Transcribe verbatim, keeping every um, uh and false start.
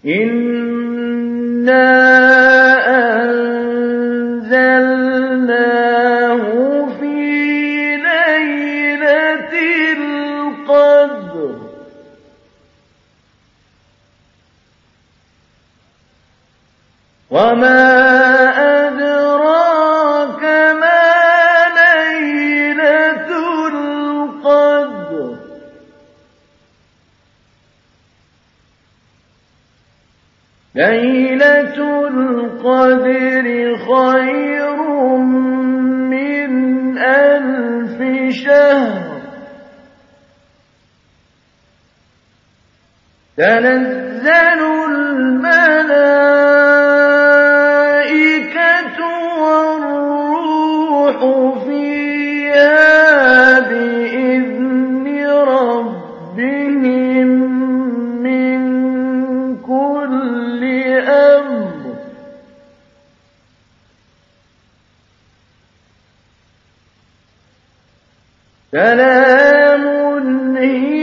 إِنَّا أَنزَلْنَاهُ فِي لَيْلَةِ الْقَدْرِ وَمَا أَدْرَاكَ مَا لَيْلَةُ الْقَدْرِ لَيْلَةُ الْقَدْرِ خَيْرٌ مِّنْ أَلْفِ شَهْرٍ تَنَزَّلُ الْمَلَائِكَةُ وَالرُّوحُ فِيهَا بِإِذْنِ رَبِّهِم مِّن كُلِّ أَمْرٍ سَلَامٌ هِيَ